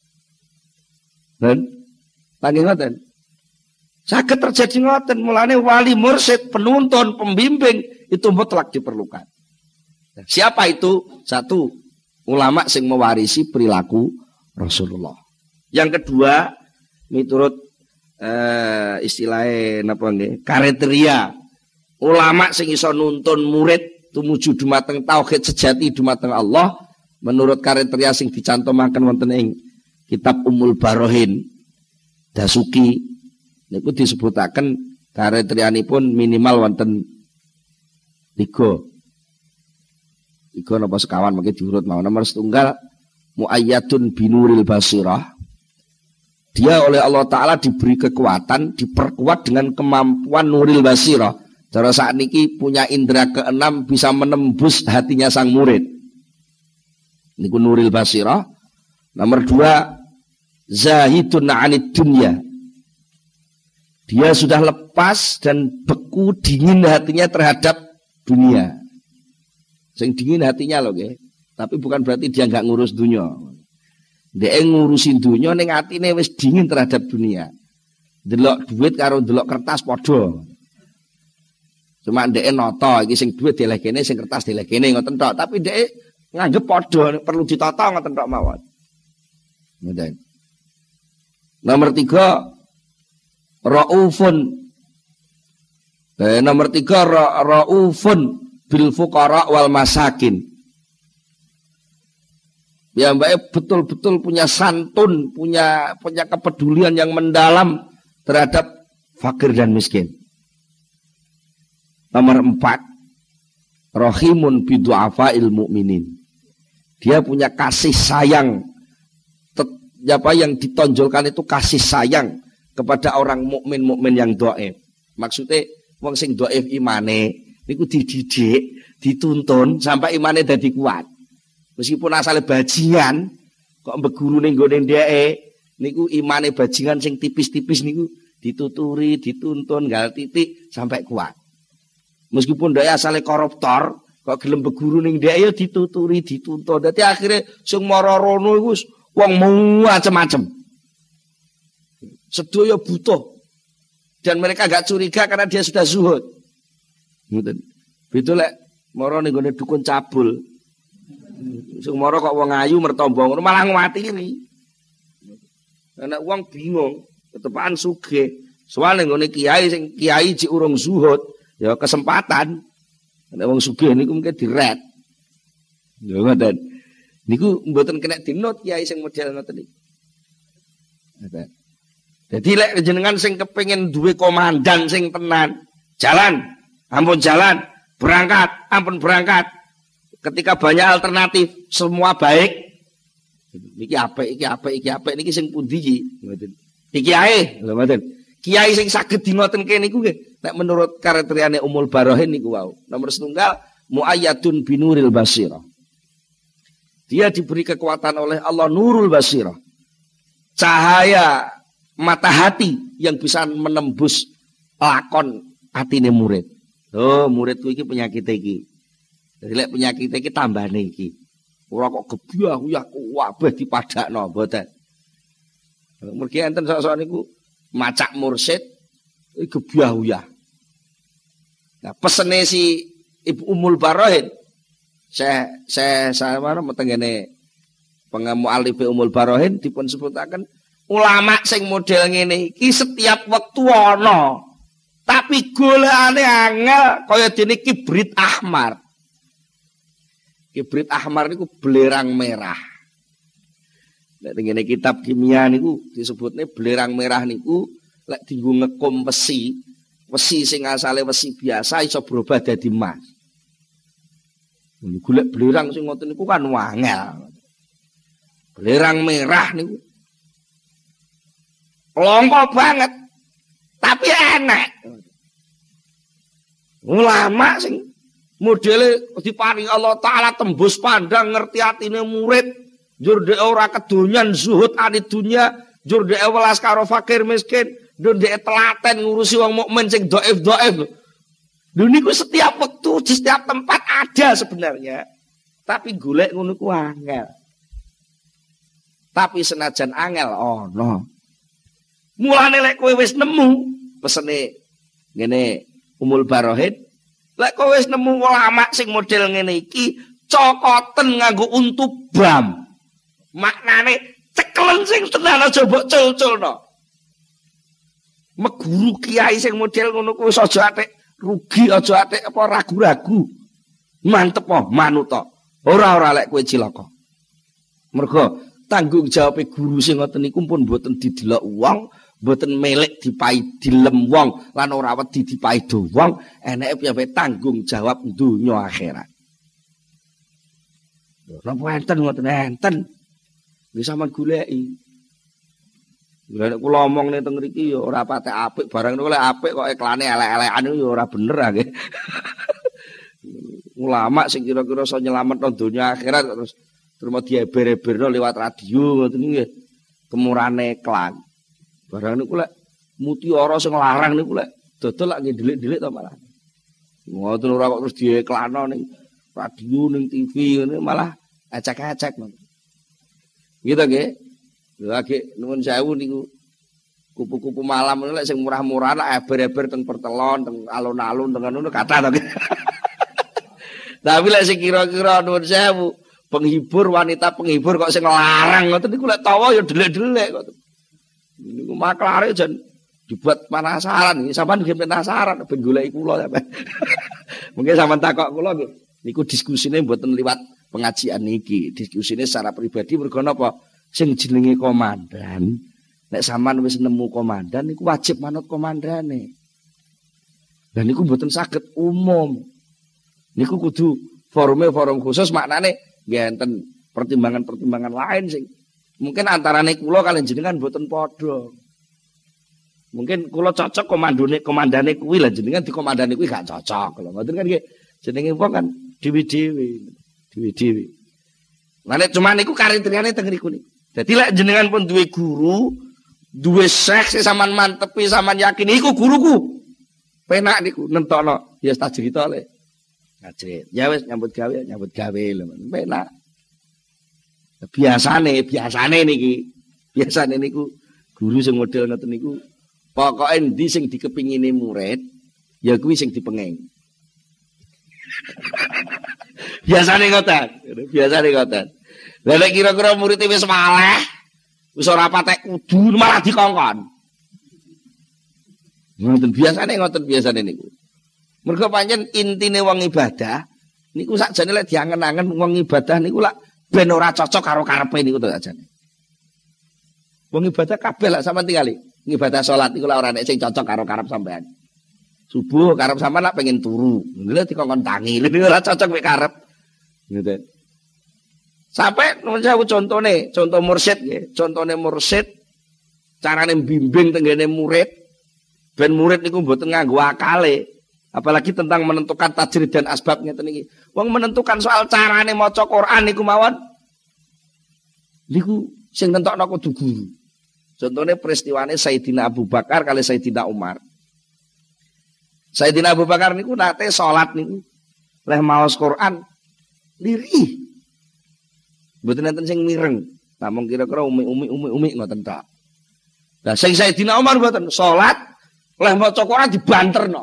Dan nggih ngoten. Saged terjadi ngoten, mulane wali mursyid, penuntun, pembimbing itu mutlak diperlukan. Siapa itu? Satu, ulama sing mewarisi perilaku Rasulullah. Yang kedua, miturut istilahnya napa nggih? Kriteria ulama sing iso nuntun murid tumuju dumateng tauhid sejati dumateng Allah menurut kriteria sing dicantumaken wonten ing kitab Ummul Barohin Dasuki niku disebutaken kriterianipun minimal wonten 3 napa sekawan mangke diurut mau. Nomor 1 muayyadun binuril basirah. Dia oleh Allah Ta'ala diberi kekuatan, diperkuat dengan kemampuan nuril basirah. Cara saat ini punya indera keenam bisa menembus hatinya sang murid. Niku nuril basirah. Nomor 2, zahidun anid dunya. Dia sudah lepas dan beku dingin hatinya terhadap dunia. Sing dingin hatinya loh, okay? Tapi bukan berarti dia nggak ngurus dunia. Dia ngurusin dunia ning atine wis dingin terhadap dunia. Delok duit karo delok kertas padha. Cuma ndek nata iki sing duit dilekene sing kertas dilekene ngoten tok, tapi ndek nganggep padha perlu ditata ngoten tok mawon. Ngoten. Nomor 3, raufun. Nomor 3, raufun bil fuqara wal masakin. Ya mbak betul-betul punya santun, punya kepedulian yang mendalam terhadap fakir dan miskin. Nomor 4, rahimun bidu'afa'il mu'minin. Dia punya kasih sayang. Apa yang ditonjolkan itu kasih sayang kepada orang mukmin yang dhaif. Maksudnya wong sing dhaif imane niku dididik, dituntun sampai imane dadi kuat. Meskipun asalnya bajingan, kok mbeguru ning nggone dheke, niku imane bajingan sing tipis-tipis niku dituturi, dituntun, gal titik sampai kuat. Meskipun dheke asalnya koruptor, kok gelem beguru ning dheke ya dituturi, dituntun. Dadi akhirnya sing mara rono iku wong macem-macem. Sedaya butuh. Dan mereka gak curiga karena dia sudah zuhud. Ngoten. Betul lek mara ning nggone dukun cabul. Sing mara kok wong ayu mertamba ngono malah nguwatiri. Ana wong bingung, ketepaan sugih. Soale ngene kiai sing kiai cik urung zuhud, ya kesempatan. Nek wong sugih niku mungkin diret. Ya ngoten. Niku mboten kena dinot kiai sing model ngoten niku. Jadi lek jenengan sing kepengin duwe komandan sing tenan, jalan, ampun jalan, berangkat, ampun berangkat. Ketika banyak alternatif, semua baik. Iki apik, iki apik, iki apik niki sing pundi iki? Ngoten. Iki ae, lho ngoten. Kiai sing saged dingoten kene niku nggih, nek menurut kriteriane Ummul Barahin niku wau. Nomor 1 muayyadun binuril basirah. Dia diberi kekuatan oleh Allah nurul basirah. Cahaya mata hati yang bisa menembus lakon atine murid. Oh, muridku iki penyakit iki. Jadi lek penyakit iki tambane iki. Ora kok gebyah-uyah kabeh dipadakno mboten. Mergi enten sok-sok niku macak mursid gebyah-uyah. Nah, pesene si Ibu Ummul Barahin saya mana metengene pengemualif Ummul Barahin dipun sebutaken ulama sing model ngene iki setiap wektu ana. Tapi golekane angel kaya dene kibrit ahmar. Kibrit ahmar niku belerang merah. Nek ngene kitab kimia niku disebutne belerang merah niku lek dienggo ngekum wesi sing asale wesi biasa iso berubah dadi emas. Golek belerang sing ngoten niku kan wangel. Belerang merah niku longko banget tapi enak. Ulama sing modele diparingi Allah Ta'ala tembus pandang ngerti atine murid njur dhek ora kedonyan zuhud anid dunya njur dhek welas karo fakir miskin njur dhek telaten ngurusi wong mukmin sing dhaif-dhaif lho niku setiap waktu di setiap tempat ada sebenarnya tapi golek ngono ku angel tapi senajan angel ono mulane lek kowe wis nemu pesene ngene Ummul Barahin lek kowe wis nemu ulama sing model ngene iki cokoten nganggo untu bam. Maknane cekelen sing tenan aja mbok cul-culno. Meguru kiai sing model ngono kuwi aja atik rugi, aja atik apa ragu-ragu. Mantep po, manut to. Ora lek kowe cilaka. Mergo tanggung jawab guru sing ngoten niku pun mboten didelok wong, mboten melek dipai dilem wong lan ora wedi dipaido wong, eneke piye tanggung jawab donya akhirat. Napa enten ngoten enten. Wis sampean goleki. Lah nek kula omong ning teng mriki ya ora patek apik, barang niku lek apik kok iklane elek-elekan niku ya ora bener ah nggih. Ulama sing kira-kira iso nyelametno donya akhirat terus mau dieber-eberno liwat radio ngoten niku nggih. Kemurane iklan. Barang niku lek mutiara sing larang niku lek dodol lak nggih delik-delik to malah. Ngoten ora kok terus diiklanno ning radio ning TV ngene malah acak-acak. Gitu nggih. Lagi nuwun sewu niku kupu-kupu malam lek sing murah-murah lek eber-eber teng pertelon, teng alun-alun teng ngono kathah to. Tapi lek sing kira-kira nuwun sewu penghibur wanita penghibur kok sing larang ngoten niku lek tawa ya delik-delik kok. Niku maklare jan dibuat penasaran iki sampean nggih penasaran ben goleki kula sampean. Mungkin sampean takok kula nggih niku diskusine mboten liwat pengajian niki, diskusine secara pribadi mergo napa? Sing jenenge komandan nek sampean wis nemu komandan niku wajib manut komandane. Dan niku mboten saged umum. Niku kudu forum khusus maknane nggih enten pertimbangan-pertimbangan lain sing mungkin antarane kula kalian jenengan mboten padha. Mungkin kula cocok komandane kuwi lah jenengan di komandane kuwi gak cocok. Lho ngoten kan nggih jenenge wong kan dewi-dewi. Lah nek cuma niku kriteriane teng niku niku. Dadi lek jenengan pun duwe guru, duwe seks sampean mantepi sampean yakin iku guruku. Penak niku nentokno ya tak cerita le. Ngajret. Ya wis nyambut gawe lho. Penak. Biasane niki. Biasane niku guru sing model ngoten niku pokoke endi sing dikepingine murid ya kuwi sing dipenging. Biasane ngoten. Lah nek kira-kira murid wis maleh, wis ora patek kudu malah dikongkon. Ngoten biasane niku. Mergo pancen intine wong ibadah niku sakjane lek diangen-angen wong ibadah niku lak ben ora cocok karo karepe niku to sakjane. Wong ibadah kabeh lak sampean tingali. Ibadah salat niku lak ora nek sing cocok karo karep sampean. Subuh karep sampean lak pengen turu. Lha dikongkon tangi, niku ora cocok mek karep. Ngoten. Sampai contoh mursyid nggih, contone mursyid carane bimbing tenggene murid ben murid niku mboten nganggo akale, apalagi tentang menentukan tajrid dan asbab ngeten iki. Wong menentukan soal carane maca Quran niku mawon niku sing nentokno kudu guru. Contone peristiwane Sayyidina Abu Bakar kali Sayyidina Umar. Sayyidina Abu Bakar niku nate salat niku leh maos Quran lirih. Mboten enten sing mireng. Namung kira-kira umi ngoten tok. Lah sing Sayyidina Umar mboten salat leh maca Quran dibanterno.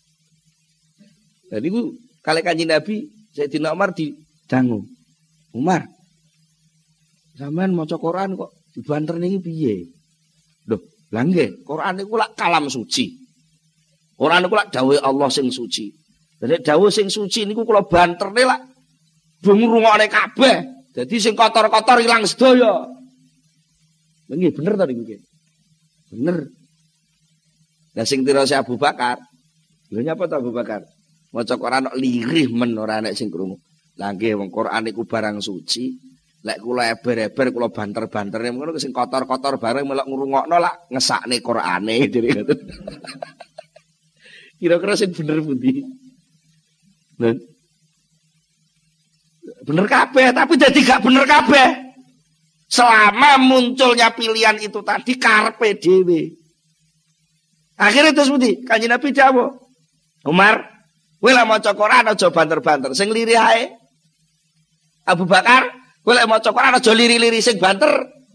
Jadi ku kali Kanjeng Nabi Sayyidina Umar didangu. Umar, sampean maca Quran kok dibanter niki piye? Lho, lha nggih, Quran niku lak kalam suci. Quran niku lak dawuh Allah sing suci. Dene dawuh sing suci niku kula banterne lak do ngrungokne kabeh. Jadi sing kotor-kotor ilang sedaya. Nggih bener to niku nggih. Bener. Lah sing tirose Abu Bakar. Lha nyapa to Abu Bakar? Maca Quran kok lirih men ora nek sing krungu. Lah nggih wong Quran niku barang suci. Lek kula eber-eber kula banter-banterne ngono sing kotor-kotor bareng melok ngrungokno lak ngesakne Qurane dene ngoten. Kira-kira sing bener pundi? Lha bener kabeh, tapi jadi gak bener kabeh. Selama munculnya pilihan itu tadi karepe dhewe. Akhirnya terus pundi? Kanjeng Nabi dawuh, Umar, kowe lek maca Quran aja banter-banter, sing lirih ae. Abu Bakar, kowe lek maca Quran aja liri-liri sing banter.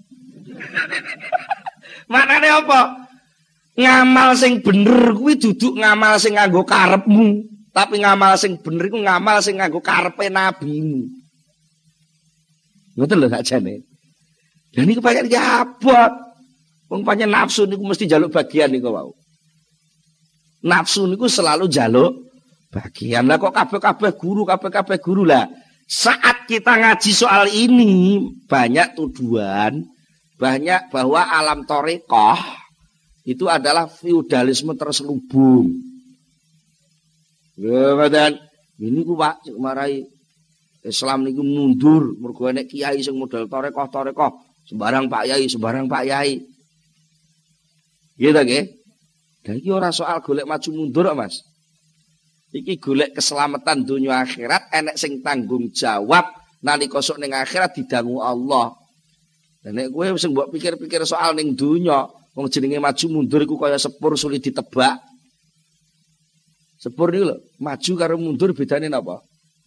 Maknane apa? Ngamal sing bener kuwi duduk ngamal sing nganggo karepmu. Tapi ngamal sing bener iku ngamal sing nganggo karepe nabimu. Ngoten lho sakjane. Lah niku pancen abot. Wong pancen nafsu niku mesti njaluk bagian niku wau. Nafsu niku selalu njaluk bagian. Lah kok kabeh-kabeh guru lah. Saat kita ngaji soal ini banyak tuduhan, banyak bahwa alam thariqah itu adalah feudalisme terselubung. Ya, ngoten. Ini ku Pak sing marai Islam niku mundur mergo nek kiai sing model thariqah sembarang Pak Yai. Gitu nggih. Dan iki ora soal golek maju mundur kok, Mas. Iki golek keselamatan dunia akhirat, enek sing tanggung jawab nalika sok ning akhirat didangu Allah. Dan nek kowe sing mbok pikir-pikir soal ning dunya, wong jenenge maju mundur iku kaya sepur sulit ditebak. Sepur niku lho, maju karo mundur bedane napa?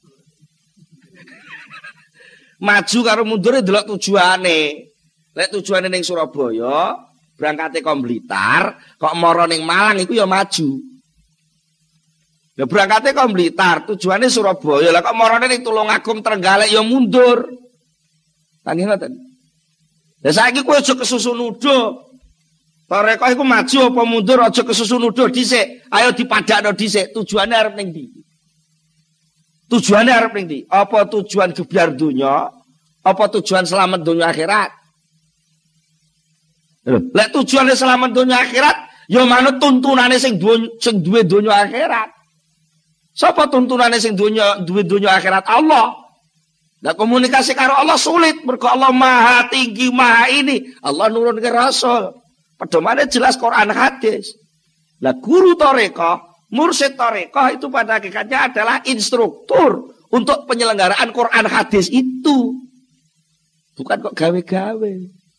Maju karo mundur delok tujuane. Lek tujuane ning Surabaya, berangkate kok Blitar, kok mara ning Malang iku ya maju. Ya berangkate kok Blitar, tujuane Surabaya. Lah kok marane ning Tulungagung Trenggalek ya mundur. Nggih ngoten. Lah saiki kowe aja kesusu nuduh. Tarekah iku maju apa mundur aja kesusu nuduh dhisik. Ayo dipadakno dhisik, tujuane arep ning ndi? Tujuane arep ning ndi? Apa tujuan gebyar donya? Apa tujuan selamat donya akhirat? Lek tujuane selamat donya akhirat, ya manut tuntunane sing duwe donya akhirat. Sapa tuntunane sing duwe donya akhirat? Allah. Lah komunikasi karo Allah sulit, mergo Allah Maha Tinggi, Maha ini. Allah nurunke Rasul. Pedomane jelas Quran hadis. Lah guru tarekah, mursyid tarekah itu pada hakikatnya adalah instruktur untuk penyelenggaraan Quran hadis itu. Bukan kok gawe-gawe.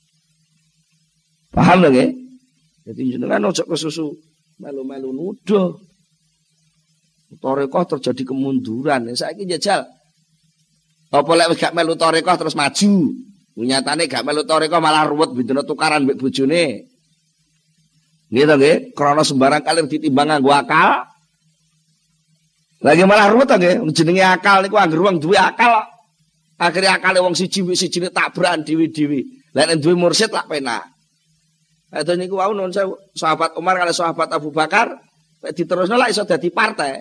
Paham lho nggih? Jadi jenengan ojo kesusu melu-melu nuduh. Tarekah terjadi kemunduran. Saiki jajal. Apa lek gak melu tarekah terus maju? Nyatane gak melu tarekah malah ruwet bendina tukaran mbek bojone. Nggih to nggih, krana sembarang kali ditimbang nganggo akal. Lagi malah ruwet to nggih, jenenge akal niku anggere wong duwe akal. Akhire akale wong siji-sijine tabrakan dhewe-dhewe. Lah nek duwe mursyid lak penak. Itu niku wau nun sahabat Umar kali sahabat Abu Bakar diterusno lak iso dadi partai.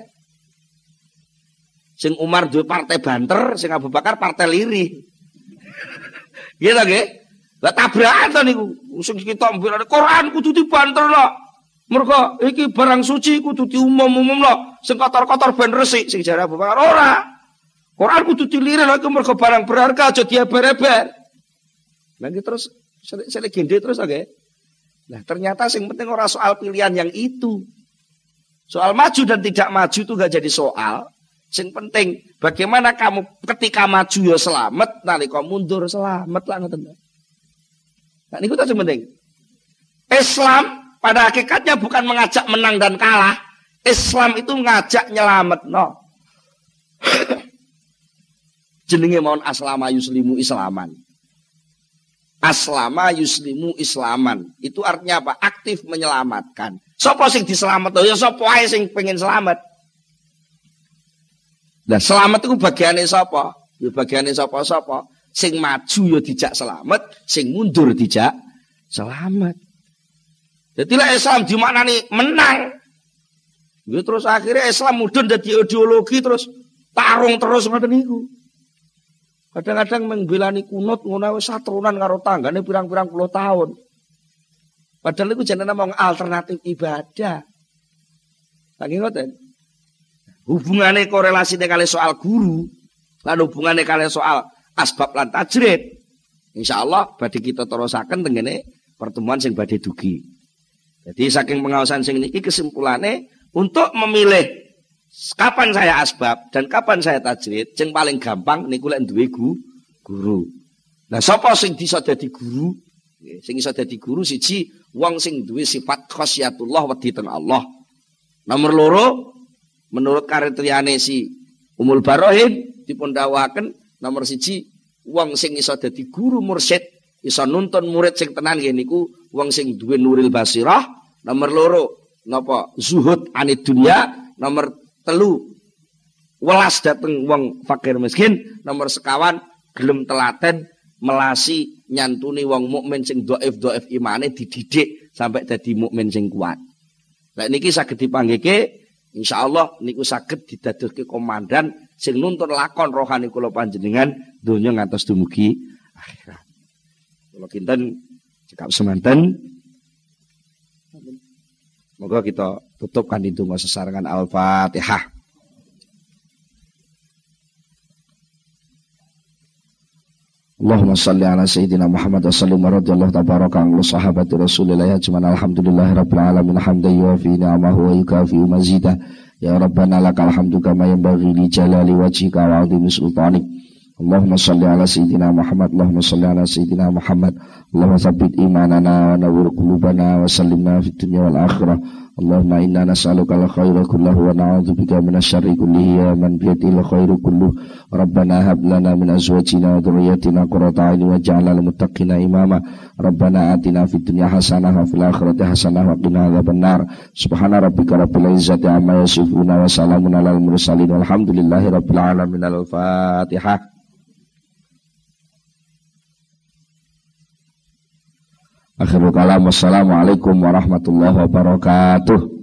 Sing Umar duwe partai banter, sing Abu Bakar partai lirih. Gitu nggih. Lah tabrakan to niku. Sing kita mbelane Quran kudu dibanterno. Mergo iki barang suci kudu diumum-umumno. Sing kotor-kotor ben resik sing jare Abu Bakar ora. Quran kudu dilirih iku mergo barang berharga aja dieber-eber. Lah iki terus sele gende terus nggih. Nah ternyata yang penting orang soal pilihan yang itu. Soal maju dan tidak maju itu gak jadi soal. Yang penting bagaimana kamu ketika maju ya selamat, nalika mundur selamat lah ngoten. Nah niku yang penting. Islam pada hakikatnya bukan mengajak menang dan kalah. Islam itu ngajak nyelamet no. Jenenge mohon aslama yuslimu islaman. Aslama yuslimu islaman. Itu artinya apa? Aktif menyelamatkan. Sopo sing diselamat? Ya sopo ae sing pengen selamat. Nah selamat itu bagiannya sopo? Ya bagiannya sopo-sopo. Sing maju ya dijak selamat, sing mundur dijak selamat. Jadi lah Islam dimaknani menang. Ya terus akhirnya Islam mudun dadi ideologi terus tarung terus ngoten niku. Kadang-kadang membelani kunut ngono wis saturunan karo tanggane pirang-pirang puluh tahun. Padahal iku jenenge mong alternatif ibadah. Saking ngoten. Hubungane korelasine kali soal guru, lan hubungane kali soal asbab lan tajrid. Insyaallah badhe kita terusaken tengene pertemuan sing badhe dugi. Jadi saking pengawasan sing niki kesimpulane untuk memilih kapan saya asbab dan kapan saya tajrid, sing paling gampang niku lek duwe guru. Nah, sapa sing bisa dadi guru? Sing iso dadi guru siji wong sing duwe sifat khasyatullah wedi teng Allah. Nomor loro menurut kriteriane si Umul Barohin dipun dawuhaken nomor siji wong sing iso dadi guru mursyid, iso nuntun murid sing tenan nggih niku wong sing duwe nuril basirah. Nomor loro napa zuhud anid dunya. Nomor telu welas dateng wong fakir miskin. Nomor sekawan gelem telaten melasi nyantuni wong mukmin sing dhaif imane dididik sampai dadi mukmin sing kuat. Lah niki saged dipanggihke insyaallah niku saged didadoske komandan sing nuntun lakon rohani kula panjenengan donya ngantos dumugi akhirat. Kula kinten cekap semanten. Moga kita tutup kanthi donga sesarengan Al-Fatihah. Allahumma salli ala sayyidina Muhammad wa sallim wa radiyallahu tabaraka an sahabati Rasulillah ajma'in alhamdulillahi rabbil alamin hamdan yuwafi ni'amahu wa yukafi mazidah ya rabbana lakal hamdu kama yanbaghi li jalali wajhika wa 'azimi sultanik. Allahumma salli ala sayyidina Muhammad, Allahumma salli ala sayyidina Muhammad, Allahumma tsabbit imanana wa nawwir qulubana wa sallimna fid dunya wal akhirah. Allahumma inna nas'aluka al-khaira kullahu wa na'udzubika minasyarri kullihi ya man biyadil khairu kulluh. Rabbana hab lana min azwajina wa dhurriyyatina qurrata a'yun waj'alna lil muttaqina imama. Rabbana atina fid dunya hasanah wa fil akhirati hasanah wa qina adzabannar. Subhana rabbika rabbil izzati amma yasifun wa salamun alal mursalin walhamdulillahi rabbil alamin. Al-Fatihah. Akhirul kalam, wassalamualaikum warahmatullahi wabarakatuh.